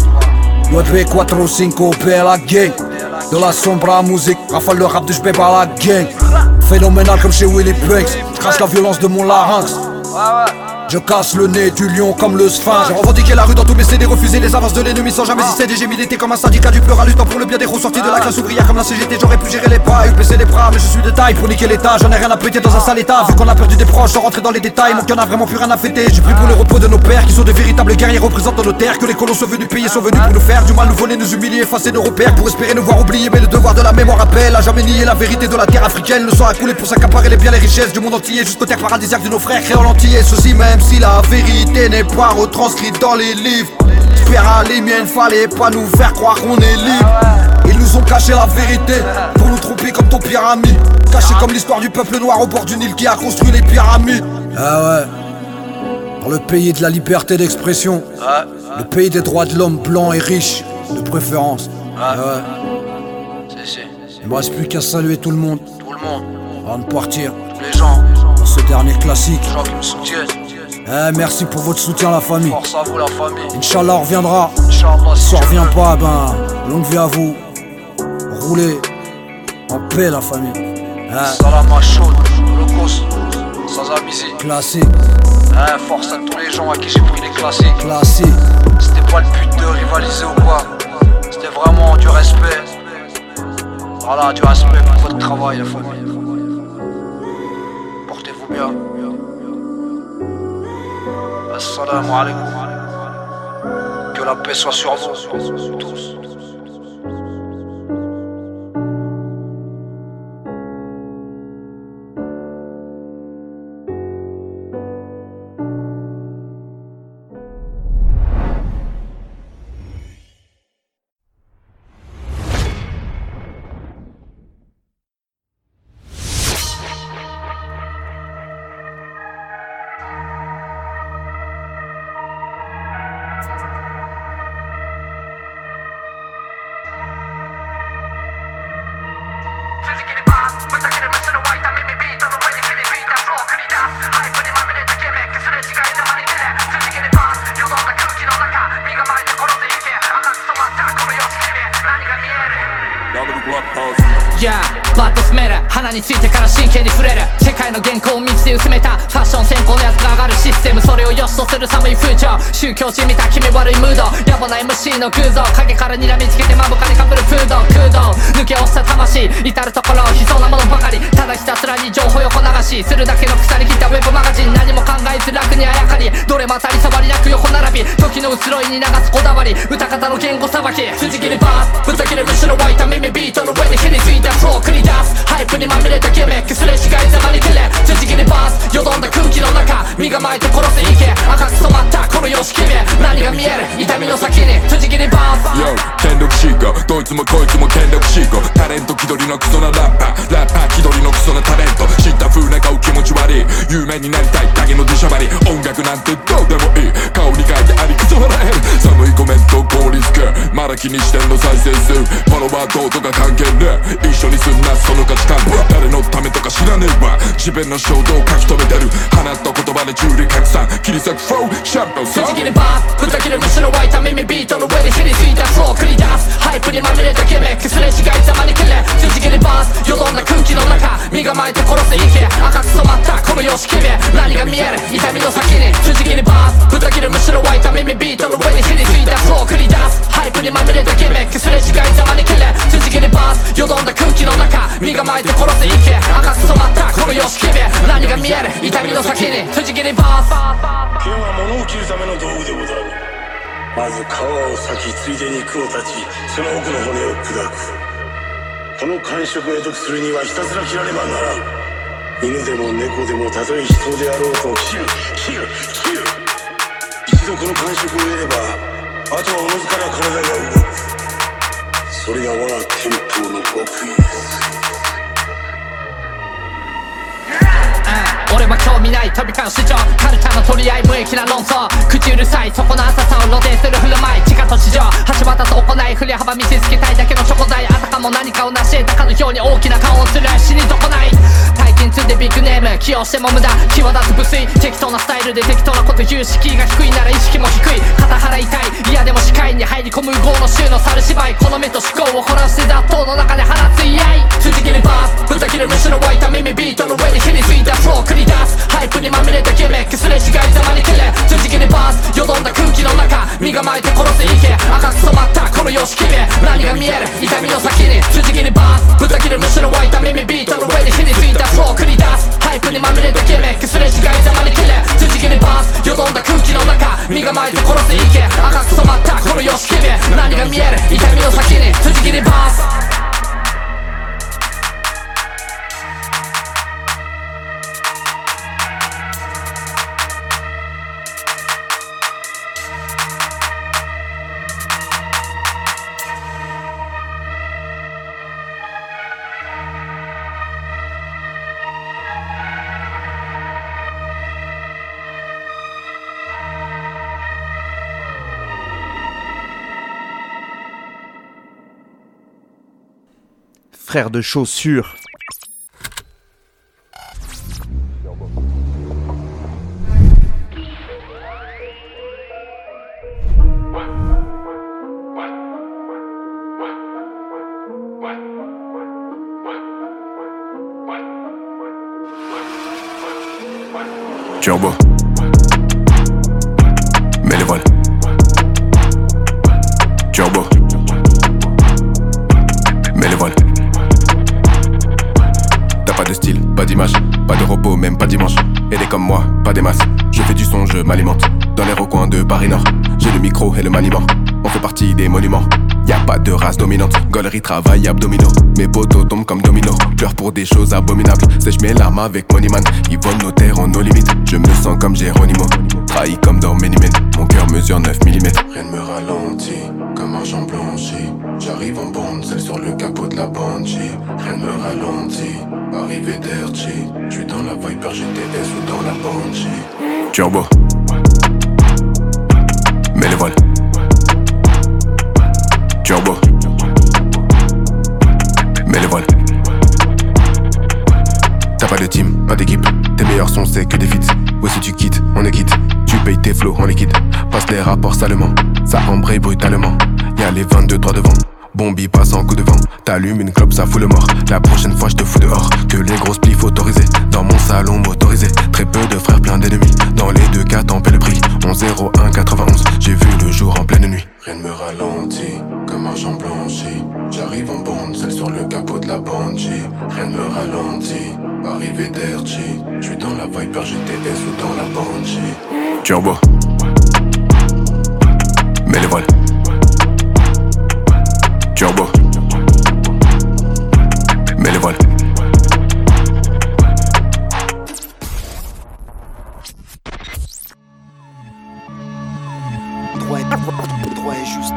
9, 4, 5, la gang. De la sombra musique, rafale le rap de j'beb à la gang. Phénoménal comme chez Willy Banks, j'crache la violence de mon larynx. Je casse le nez du lion comme le sphinx. J'ai revendiqué la rue dans tous mes CD, refusé les avances de l'ennemi sans jamais céder. J'ai milité comme un syndicat du peur à luttant pour le bien des gros sortis de la classe ouvrière comme la CGT. J'aurais pu gérer les pas, baisser les bras, mais je suis de taille pour niquer l'état. J'en ai rien à péter dans un sale état. Vu qu'on a perdu des proches, sans rentrer dans les détails, mon cœur n'a vraiment plus rien à fêter. J'ai pris pour le repos de nos pères qui sont de véritables guerriers représentant nos terres. Que les colons sont venus payer, sont venus pour nous faire du mal, nous voler, nous humilier, effacer nos repères pour espérer nous voir oublier. Mais le devoir de la mémoire appelle à jamais nier la vérité de la terre africaine. Le sang a coulé pour s'accaparer les biens, les richesses du monde entier jusqu'aux terres paradisiaques de nos frères créoles entiers. Ceci même si la vérité n'est pas retranscrite dans les livres. J'espère à les miennes, fallait pas nous faire croire qu'on est libre. Ils nous ont caché la vérité pour nous tromper comme ton pire ami. Caché comme l'histoire du peuple noir au bord du Nil qui a construit les pyramides. Ah ouais, dans le pays de la liberté d'expression, le pays des droits de l'homme blanc et riche, de préférence. Ah ouais. Il me reste plus qu'à saluer tout le monde. Avant de partir. Tous les gens. Pour ce dernier classique. Les gens qui me soutiennent. Merci pour votre soutien la famille. Force à vous la famille. Inch'Allah on reviendra. Inch'Allah, si on revient pas, ben longue vie à vous. Roulez en paix la famille. Salam à chaud, holocauste, sans amnésie. Classique. Force à tous les gens à qui j'ai pris les classiques. Classique. C'était pas le but de rivaliser ou quoi. C'était vraiment du respect. Voilà, du respect pour votre travail la famille. Portez-vous bien. Assalamu alaikum. Que la paix soit sur vous tous. バッと詰める鼻についてから真剣に触れる世界の原稿を道で薄めたファッション先行のやつが上がるシステムそれを良しとする寒い風潮宗教地見た気味悪いムード野暮な MC の偶像影から睨みつけて目深にかぶる空洞抜け落ちた魂至る所悲壮なものばかりただひたすらに情報横流しするだけの腐り切ったウェブマガジン何も考えず楽にあやかりどれも当たり障りなく横並び時の移ろいに流すこだわり歌方の言語さばき辻切りバースぶった切れむしろ湧いた耳ビートの上に火についたフロー繰り出すハイプにまみれたギミックすれ違いざまに切れ辻切りバースよどんだ空気の中身構えて殺せいけ赤く染まったこの様式目何が見える痛みの先に辻切りバース Yo 権力シーカーどいつもこいつも権力シーカータレント気取りのクソなラッパー気取りのクソなタレント知った風な顔気持ち悪い有名になりたい影の出しゃばり音楽なんてどうでもいい顔に書いてありくそ笑える寒いコメント効率系まだ気にしてんの再生数フォロワーどうとか関係ねえ一緒にすんなその価値観誰のためとか知らねえわ自分の衝動を書き留めてる放った言葉で中理拡散切り裂くフローシャンプーさ辻切りバースぶった切れむしろ湧いた耳ビートの上に火についたフロー繰り出すハイプにまみれたギミックすれ違いざまに切れ辻切りバースよどんだ空気の中身構えて殺せいけ赤く染まったこの様式目何が見える痛みの先に辻切りバースぶった切れむしろ湧いた耳ビートの上に火についたフロー繰り出すハイプにまみれたギミックすれ違いざまに切れ辻切りバースよどんだ空気の中身構えて殺せいけ赤く染まったこの様式目何が見える痛みの先に辻切りバース剣は物を切るための道具でござるまず皮を裂きついで肉を断ちその奥の骨を砕くこの感触を得得するにはひたすら切らねばならん犬でも猫でもたとえ人であろうと切る一度この感触を得ればあとはおのずから体が動くそれが我が天風の極意です俺は興味ない飛び交う市場カルチャーの取り合い無益な論争口うるさいそこの浅さを露呈する振る舞い地下と地上橋渡す行い振り幅見せつけたいだけのチョコ材あたかも何かを成し得たかのように大きな顔をする死に損ない大金積んでビッグネーム起用しても無駄際立つ無粋適当なスタイルで適当なこと言う敷居が低いなら意識も低い肩払いたい嫌でも視界に入り込む豪の衆の猿芝居この目と思考を凝らして雑踏の中で放つ居合辻切りバースぶった切るむしろ湧いた耳ビートの上に火についたフロー繰り出すハイプにまみれたギミックすれ違いざまに切れ辻切りバースよどんだ空気の中身構えて殺せいけ赤く染まったこの様式目何が見える痛みの先に辻切りバースぶった切るむしろ湧いた耳ビートの上に火についたフロー繰り出すハイプにまみれたギミックすれ違いざまに切れ辻切りバースよどんだ空気の中身構えて殺せいけ赤く染まったこの様式目何が見える痛みの先に辻切りバース Frère de chaussures. Turbo. Mets les voiles. Turbo. Mets les voiles. T'as pas de style, pas d'image, pas de repos, même pas dimanche. Elle est comme moi, pas des masses. Je fais du son, je m'alimente. Dans les recoins de Paris Nord, j'ai le micro et le maniement. On fait partie des monuments. Y'a pas de race dominante, gaulerie, travail, abdominaux. Mes potos tombent comme dominos, pleure pour des choses abominables. Sèche mes larmes avec Moneyman, ils volent nos terres en nos limites. Je me sens comme Geronimo, trahi comme dans Many Men. Mon cœur mesure 9 mm. Rien ne me ralentit, comme un champ blanchi. J'arrive en bande, celle sur le capot de la Banshee. Rien ne me ralentit, arrivé d'Erchi. J'suis dans la Viper GTS ou dans la Banshee. Turbo. Mets les voiles. Turbo. Mets les voiles. T'as pas de team, pas d'équipe. Tes meilleurs sons c'est que des feats. Ouais si tu quittes, on est quitte. Tu payes tes flots en liquide. Passe les rapports salement. Ça embraye brutalement. Y'a les 22 droits devant. Bombi passe en coup de vent, t'allumes une clope, ça fout le mort. La prochaine fois je te fous dehors, que les grosses plifs autorisées. Dans mon salon motorisé, très peu de frères, plein d'ennemis. Dans les deux cas t'en paies le prix, 11-01-91. J'ai vu le jour en pleine nuit. Rien ne me ralentit, comme argent blanchi. J'arrive en bande, celle sur le capot de la Banshee. Rien ne me ralentit, arrivé d'Erchi. J'suis dans la Viper GTS ou dans la Banshee. Turbo, mets les voiles. Turbo, mets les voiles. Droit est juste.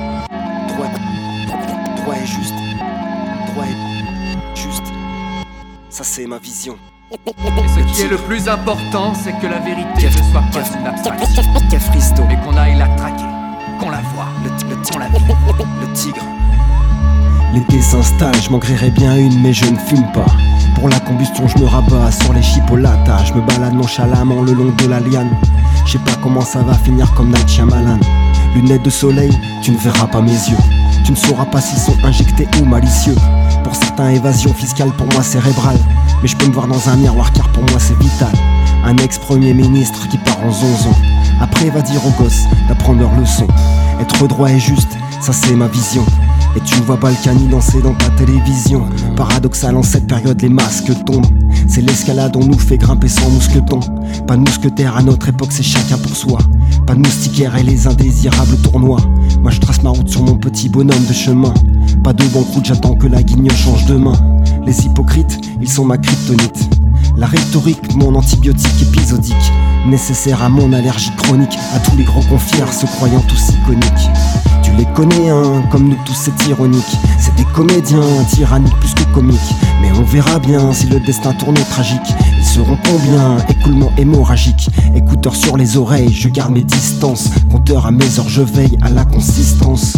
Droit est juste. Droit est juste. Ça c'est ma vision. Et ce qui est le plus important, c'est que la vérité ne soit pas une abstraction, mais qu'on aille la traquer, qu'on la voit, le tigre. L'été s'installe, je m'en grillerais bien une mais je ne fume pas. Pour la combustion je me rabats sur les chipolatas. Je me balade nonchalamment le long de la liane. Je sais pas comment ça va finir comme Night Shyamalan. Lunettes de soleil, tu ne verras pas mes yeux. Tu ne sauras pas s'ils sont injectés ou malicieux. Pour certains, évasion fiscale, pour moi cérébrale. Mais je peux me voir dans un miroir car pour moi c'est vital. Un ex-premier ministre qui part en zonzon. Après va dire aux gosses d'apprendre leur leçon. Être droit et juste, ça c'est ma vision. Et tu vois Balkany danser dans ta télévision. Paradoxal en cette période les masques tombent. C'est l'escalade on nous fait grimper sans mousqueton. Pas de mousquetaires à notre époque c'est chacun pour soi. Pas de moustiquaires et les indésirables tournois. Moi je trace ma route sur mon petit bonhomme de chemin. Pas de banqueroute, j'attends que la guignole change de main. Les hypocrites, ils sont ma kryptonite. La rhétorique, mon antibiotique épisodique. Nécessaire à mon allergie chronique. À tous les gros confiers se croyant tous iconiques. Tu les connais hein, comme nous tous c'est ironique. C'est des comédiens, tyranniques plus que comiques. Mais on verra bien si le destin tourne au tragique. Ils seront combien, écoulement hémorragique. Écouteurs sur les oreilles, je garde mes distances. Compteur à mes heures, je veille à la consistance.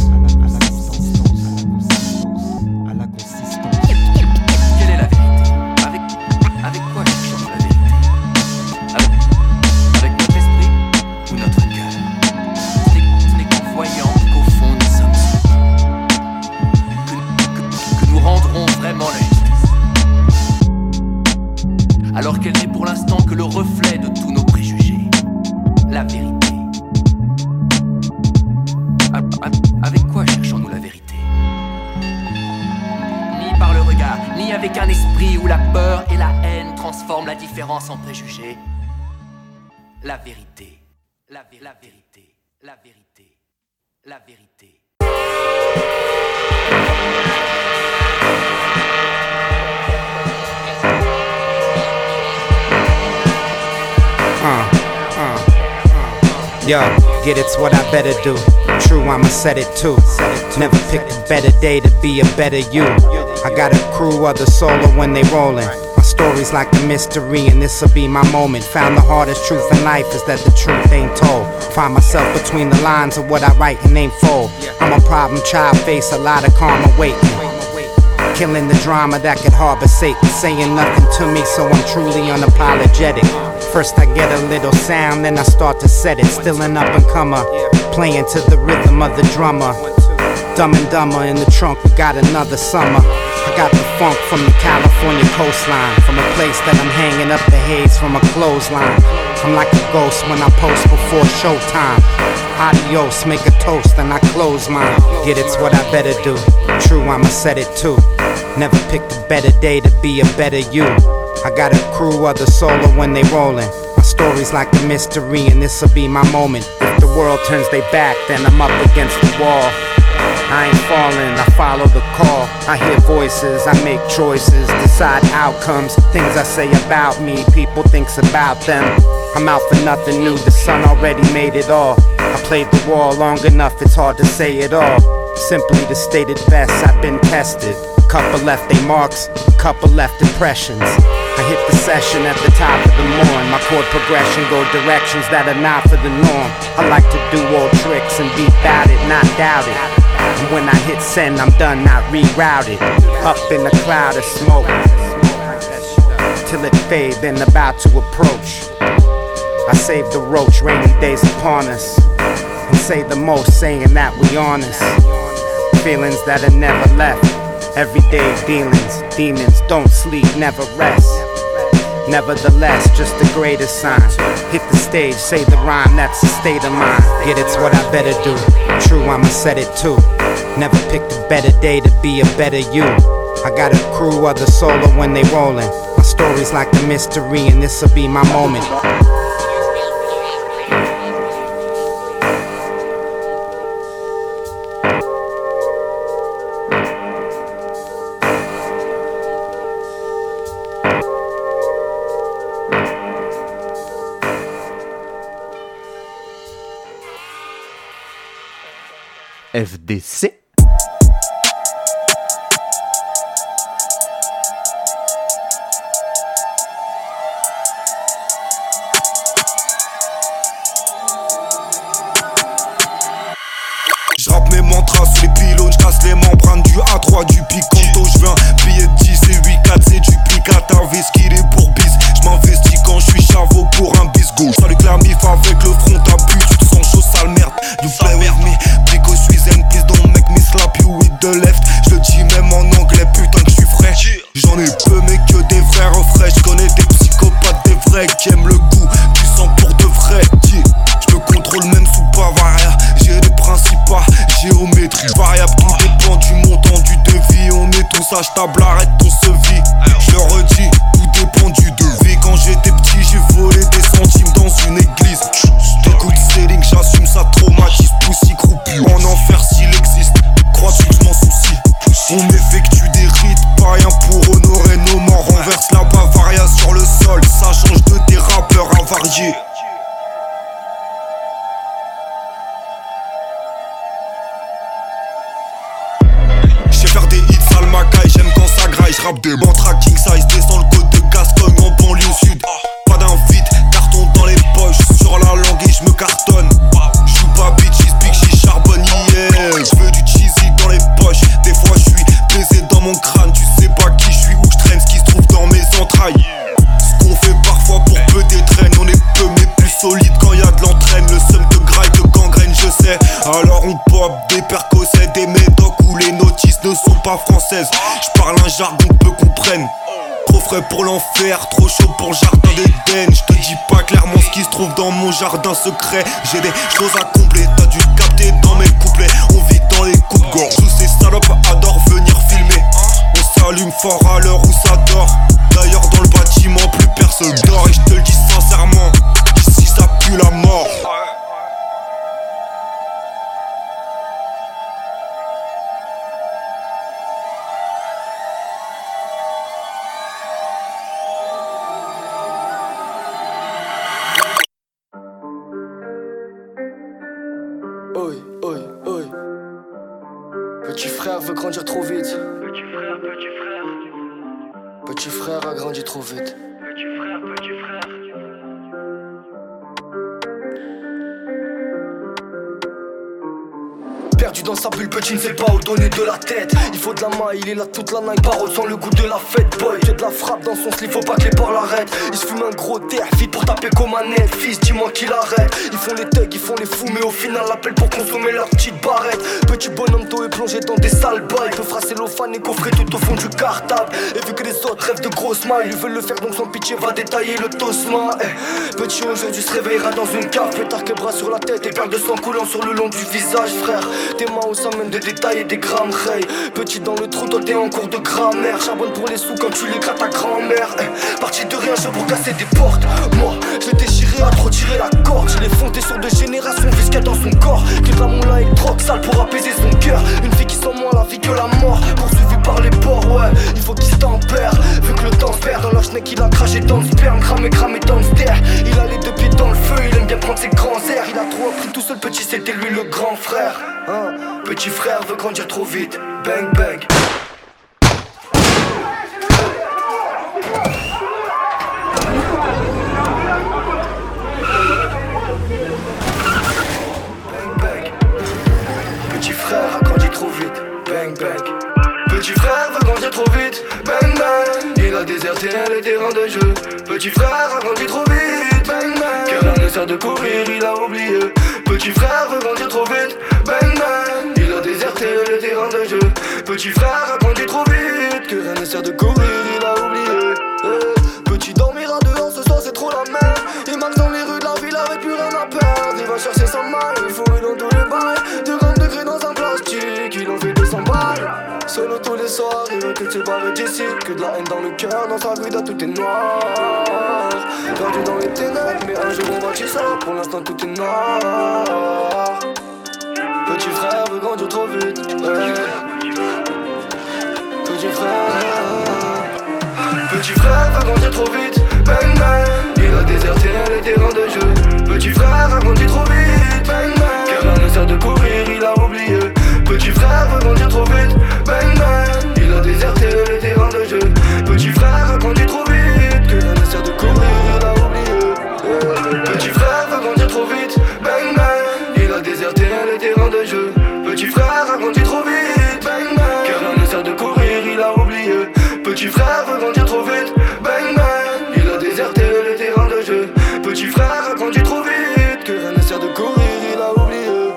alors qu'elle n'est pour l'instant que le reflet de tous nos préjugés. La vérité. Avec quoi cherchons-nous la vérité? Ni par le regard, ni avec un esprit où la peur et la haine transforment la différence en préjugés. La vérité. La vérité. La vérité. La vérité. Yo, get it's what I better do. True, I'ma set it too. Never picked a better day to be a better you. I got a crew of the solo when they rollin'. My story's like a mystery and this'll be my moment. Found the hardest truth in life is that the truth ain't told. Find myself between the lines of what I write and ain't fold. I'm a problem child, face a lot of karma waiting. Killing the drama that could harbor Satan. Saying nothing to me, so I'm truly unapologetic. First I get a little sound, then I start to set it. Still an up-and-comer, playing to the rhythm of the drummer. Dumb and Dumber in the trunk, we got another summer. I got the funk from the California coastline. From a place that I'm hanging up the haze from a clothesline. I'm like a ghost when I post before showtime. Adios, make a toast and I close mine. Get it's what I better do. True, I'ma set it too. Never picked a better day to be a better you. I got a crew of the solo when they rollin'. My story's like a mystery and this'll be my moment. If the world turns their back, then I'm up against the wall. I ain't falling, I follow the call. I hear voices, I make choices, decide outcomes. Things I say about me, people thinks about them. I'm out for nothing new, the sun already made it all. I played the wall long enough, it's hard to say it all. Simply to state it best, I've been tested. Couple left they marks, couple left impressions. I hit the session at the top of the morn. My chord progression go directions that are not for the norm. I like to do old tricks and be bout it, not doubt it. And when I hit send, I'm done, not rerouted. Up in a cloud of smoke till it fade, then about to approach. I save the roach, rainy days upon us, and say the most, saying that we honest. feelings that have never left. Everyday dealings, demons don't sleep, never rest. Nevertheless, just the greatest sign. Hit the stage, say the rhyme, that's a state of mind. Yeah, it's what I better do. True, I'ma set it too. Never picked a better day to be a better you. I got a crew, other solo when they rollin'. My story's like a mystery and this'll be my moment. FDC. J'rappe mes mantras sous les pylônes, j'casse les membranes du A3 du Picanto. J'veux un billet de 10 et 8 4 c'est duplicata, qu'il est pour bis. J'm'investis quand j'suis chavo pour un bisgo. Salut que la mif avec le front à but, tu te sens chaud sale merde. You play with me, Pico Suizen, please don't make me slap you with the left. J'le dis même en anglais, putain que j'suis frais. J'en ai peu mais que des frères frais. J'connais des psychopathes, des vrais qui aiment le goût du sang pour de vrai. J'me contrôle même sous Bavaria. J'ai des principes à géométrie variable. Tout dépend du montant du devis. On est tous achetables, arrête ton sevis. Je le redis, tout dépend du devis. Quand j'étais petit j'ai volé des centimes dans une église. Écoute selling, j'assume ça traumatise. Poussi croupi en enfer s'il existe. Crois-tu que je m'en soucie? On effectue des rites païens pour honorer nos morts. Renverse la Bavaria sur le sol. Ça change de tes rappeurs avariés. Faire des hits sale macaille, j'aime quand ça graille. J'rappe des bantra king size, descends le côte de Gascogne en banlieue sud. Pas d'invite, carton dans les poches, sur la langue et j'me cartonne. J'joue pas bitches, big j'y charbonne, yeah. J'veux du cheesy dans les poches, des fois j'suis baisé dans mon crâne. Tu sais pas qui j'suis, où j'traîne, ce qui se trouve dans mes entrailles. Ce qu'on fait parfois pour peu d'étrennes, on est peu mais plus solide quand y'a de l'entraîne. Le seum de graille, de gangrène, je sais. Alors on pop des percossets, des médocs où les notices ne sont pas françaises. J'parle un jargon que peu comprennent. Trop frais pour l'enfer, trop chaud pour le jardin d'Éden. J'te dis pas clairement ce qui se trouve dans mon jardin secret. J'ai des choses à combler, t'as dû le capter dans mes couplets. On vit dans les coups de gorge. Tous ces salopes adorent venir filmer. On s'allume fort à l'heure où ça dort. D'ailleurs dans le bâtiment plus personne dort. Et j'te le dis sincèrement, ici ça pue la mort. Petit frère veut grandir trop vite. Petit frère a grandi trop vite. Petit frère. Perdu dans sa bulle, petit ne sait pas où donner de la tête. Il faut de la maille, il est là toute la night. Parole sans le goût de la fête, boy. J'ai de la frappe dans son slip, faut pas que les porcs l'arrêtent. Il se fume un gros terre, vite pour taper comme un net. Fils, dis-moi qu'il arrête. Ils font les thugs, ils font les fous, mais au final l'appellent pour consommer leur petite barrette. Petit bonhomme tôt est plongé dans des sales bails. Peut frasser l'ophane et coffrer tout au fond du cartable. Et vu que les autres rêvent de grosses mailles, ils veulent le faire donc sans pitié va détailler le tosma. Petit aujourd'hui se réveillera dans une cave, pétard que bras sur la tête et perles de sang coulant sur le long du visage, frère. Tes mains où ça mène des détails et des grammes, hey. Petit dans le trou, toi t'es en cours de grammaire. Charbonne pour les sous quand tu les grattes ta grand-mère. Parti de rien, je pour casser des portes. Moi, je l'ai déchiré à trop tirer la corde. Je l'ai fondé sur 2 générations, vu ce qu'il y a dans son corps. Clip à mon là avec drogue sale pour apaiser son cœur. Une vie qui sent moins la vie que la mort. Poursuivi par les porcs, ouais, il faut qu'il se tempère. Vu que le temps se perd dans la schneck, il a craché dans le sperme. Cramé dans le ster. Il a les 2 pieds dans le feu, il aime bien prendre ses grands airs. Il a trop appris tout seul, petit, c'était lui le grand frère, hein. Petit frère veut grandir trop vite, bang bang. Bang bang. Petit frère a grandi trop vite, bang bang. Petit frère veut grandir trop vite, bang bang. Il a déserté les terrains de jeu. Petit frère a grandi trop vite, bang bang. Car rien ne sert de courir, il a oublié. Petit frère veut grandir trop vite, bang bang. Il a déserté les terrains de Petit frère a grandi trop vite, que rien ne sert de courir, il a oublié. Petit dormira dehors ce soir, c'est trop la merde. Il marche dans les rues de la ville avec plus rien à perdre. Il va chercher sa maille, il faut dans tous les bails. 2 grammes de gris dans un plastique, il en fait 200 balles. Solo tous les soirs, il veut que tu barres d'ici. Que de la haine dans le cœur, dans sa vida tout est noir. Perdu dans les ténèbres, mais un jour on va ça. Pour l'instant tout est noir. Petit frère veut grandir trop vite, ouais. Petit frère veut grandir trop vite, bang bang. Il a déserté les terrains de jeu. Petit frère a grandi trop vite, bang bang. Car rien ne sert de courir, il a oublié. Petit frère veut grandir trop vite, bang bang. Il a déserté les terrains de jeu. Petit frère a grandi trop vite, que rien ne sert de courir, il a oublié. Petit frère veut grandir trop vite, bang bang. Il a déserté les terrains de jeu. Petit frère a grandi trop vite, bang bang. Car rien ne sert de courir, il a oublié. Petit frère veut grandir trop vite, bang bang. Il a déserté les terrains de jeu. Petit frère a grandi trop vite, que rien ne sert de courir, il a oublié.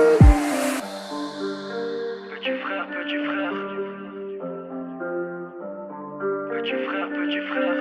Petit frère, petit frère. Petit frère, petit frère.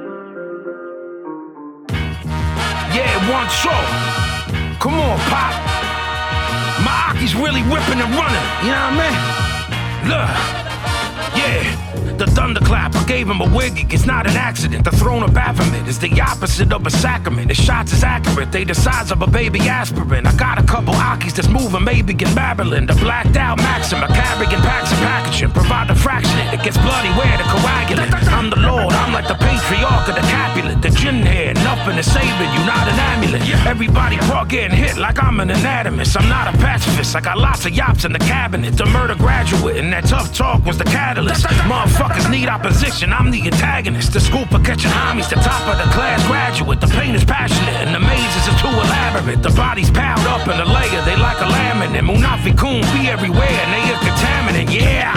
Yeah, one show. Come on, Pop. My Aki's really whipping and running, you know what I mean? Look, yeah. The thunderclap, I gave him a wig, it's not an accident. The throne of Baphomet is the opposite of a sacrament. His shots is accurate, they the size of a baby aspirin. I got a couple Akis that's moving, maybe in Babylon. The blacked out Maxim, a carrying packs and packaging. Provide the fraction, it gets bloody, where the coagulant. I'm the Lord, I'm like the patriarch of the Capulet. The gin head, nothing is saving you, not an amulet. Everybody brought getting hit like I'm an anatomist. I'm not a pacifist, I got lots of yops in the cabinet. The murder graduate, and that tough talk was the catalyst. Motherfuckers need opposition, I'm the antagonist. The school for catching homies, the top of the class graduate. The pain is passionate and the mazes are too elaborate. The body's piled up in a layer, they like a laminate. Munafi Kun be everywhere and they a contaminant, yeah.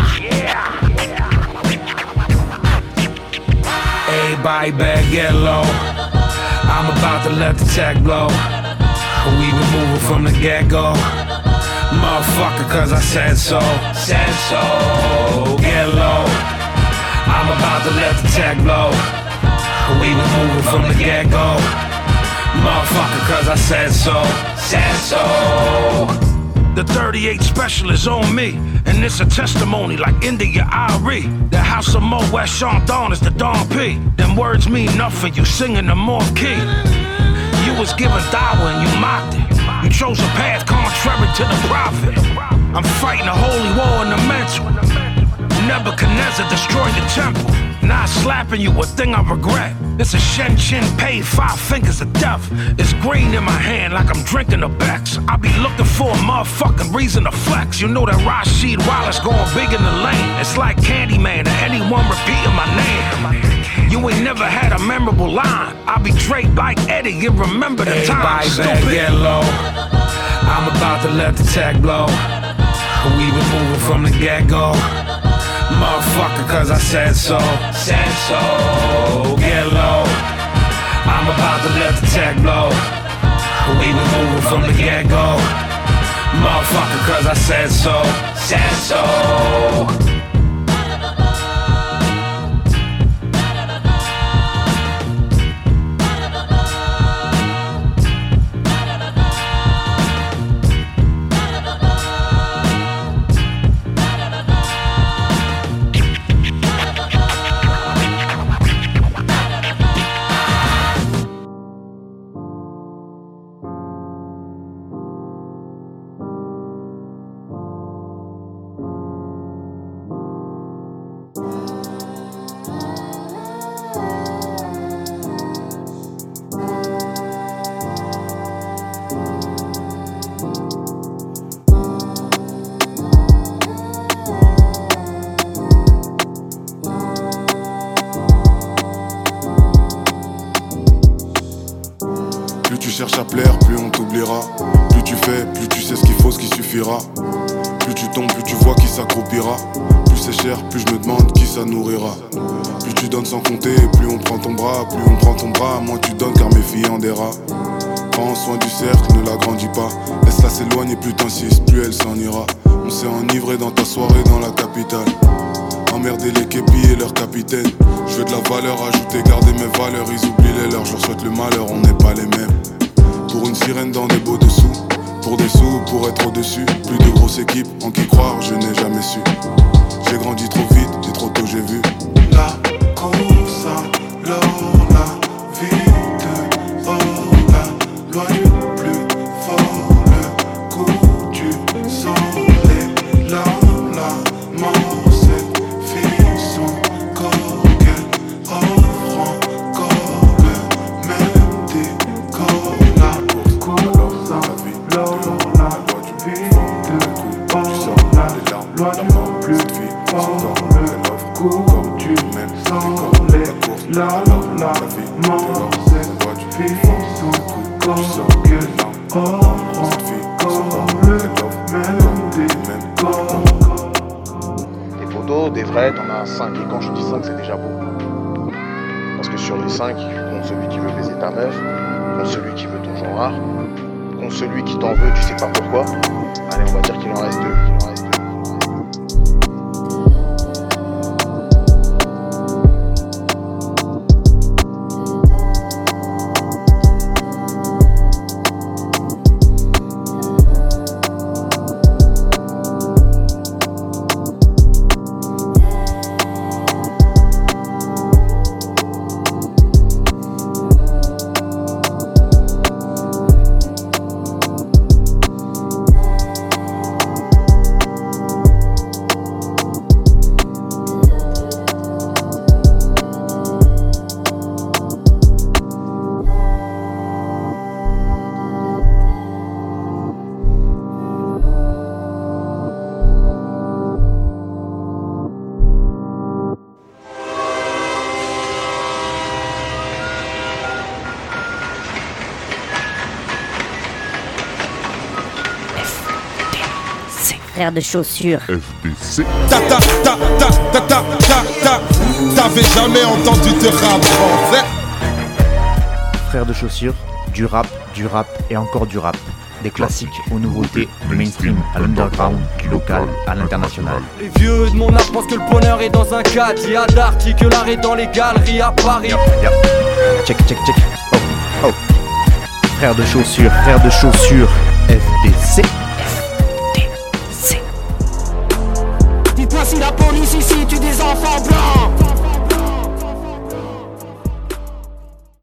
Everybody better get low. I'm about to let the tech blow. We was moving from the get-go. Motherfucker, cause I said so. Said so. Get low. I'm about to let the tech blow. We was moving from the get-go. Motherfucker, cause I said so. Said so. The 38 special is on me, and it's a testimony like India Ari. The house of Mo West Sean Dawn is the Don P. Them words mean nothing, you singing them off key. You was given dawah and you mocked it. You chose a path contrary to the prophet. I'm fighting a holy war in the mental. Nebuchadnezzar destroyed the temple. Not slapping you, a thing I regret. It's a Shen Chin paid 5 fingers of death. It's green in my hand like I'm drinking a Bex. I be looking for a motherfucking reason to flex. You know that Rashid Wallace going big in the lane. It's like Candyman or anyone repeating my name. You ain't never had a memorable line. I be Drake like Eddie, you remember the time. Everybody get low. I'm about to let the tech blow. We was moving from the get-go. Motherfucker, cause I said so. Said so. Get low. I'm about to let the tech blow. We was moving from the get-go. Motherfucker, cause I said so. Said so. cherches à plaire, plus on t'oubliera. Plus tu fais, plus tu sais ce qu'il faut, ce qui suffira. Plus tu tombes, plus tu vois qui s'accroupira. Plus c'est cher, plus je me demande qui ça nourrira. Plus tu donnes sans compter, plus on prend ton bras. Plus on prend ton bras, moins tu donnes car mes filles en des rats. Prends soin du cercle, ne l'agrandis pas. Laisse-la s'éloigner, plus t'insistes, plus elle s'en ira. On s'est ennuyé m'enivrer dans ta soirée dans la capitale. Emmerder les képis et leurs capitaines. Je veux de la valeur ajoutée, garder mes valeurs. Ils oublient les leurs, je leur souhaite le malheur, on n'est pas les mêmes. Pour une sirène dans des beaux dessous, pour des sous, pour être au-dessus. Plus de grosses équipes, en qui croire, je n'ai jamais su. J'ai grandi trop vite, et trop tôt j'ai vu. La course à l'or, la vite, oh la loi du plus fort, le coup du soleil, la mort, cette fille, son corps qu'elle offre encore le même décor. La course à l'or, la vite, oh la loi du plus fort, le coup du soleil, la mort, cette fille, son corps qu'elle offre encore le même décor. Des photos, des vrais, t'en as 5. Et quand je dis 5, c'est déjà beaucoup. Parce que sur les 5, compte celui qui veut baiser ta meuf, compte celui qui veut ton genre rare, compte celui qui t'en veut, tu sais pas pourquoi. Allez, on va dire qu'il en reste 2. Frère de chaussures. FDC. T'avais jamais entendu de rap français. Frère de chaussures, du rap et encore du rap. Des classiques aux nouveautés, du mainstream à l'underground, du local à l'international. Les vieux de mon âge pensent que le bonheur est dans un cadre. Il y a d'arty que l'art est dans les galeries à Paris. Check. Oh. Frère de chaussures, FDC. Dites-moi si la police ici tue des enfants blancs.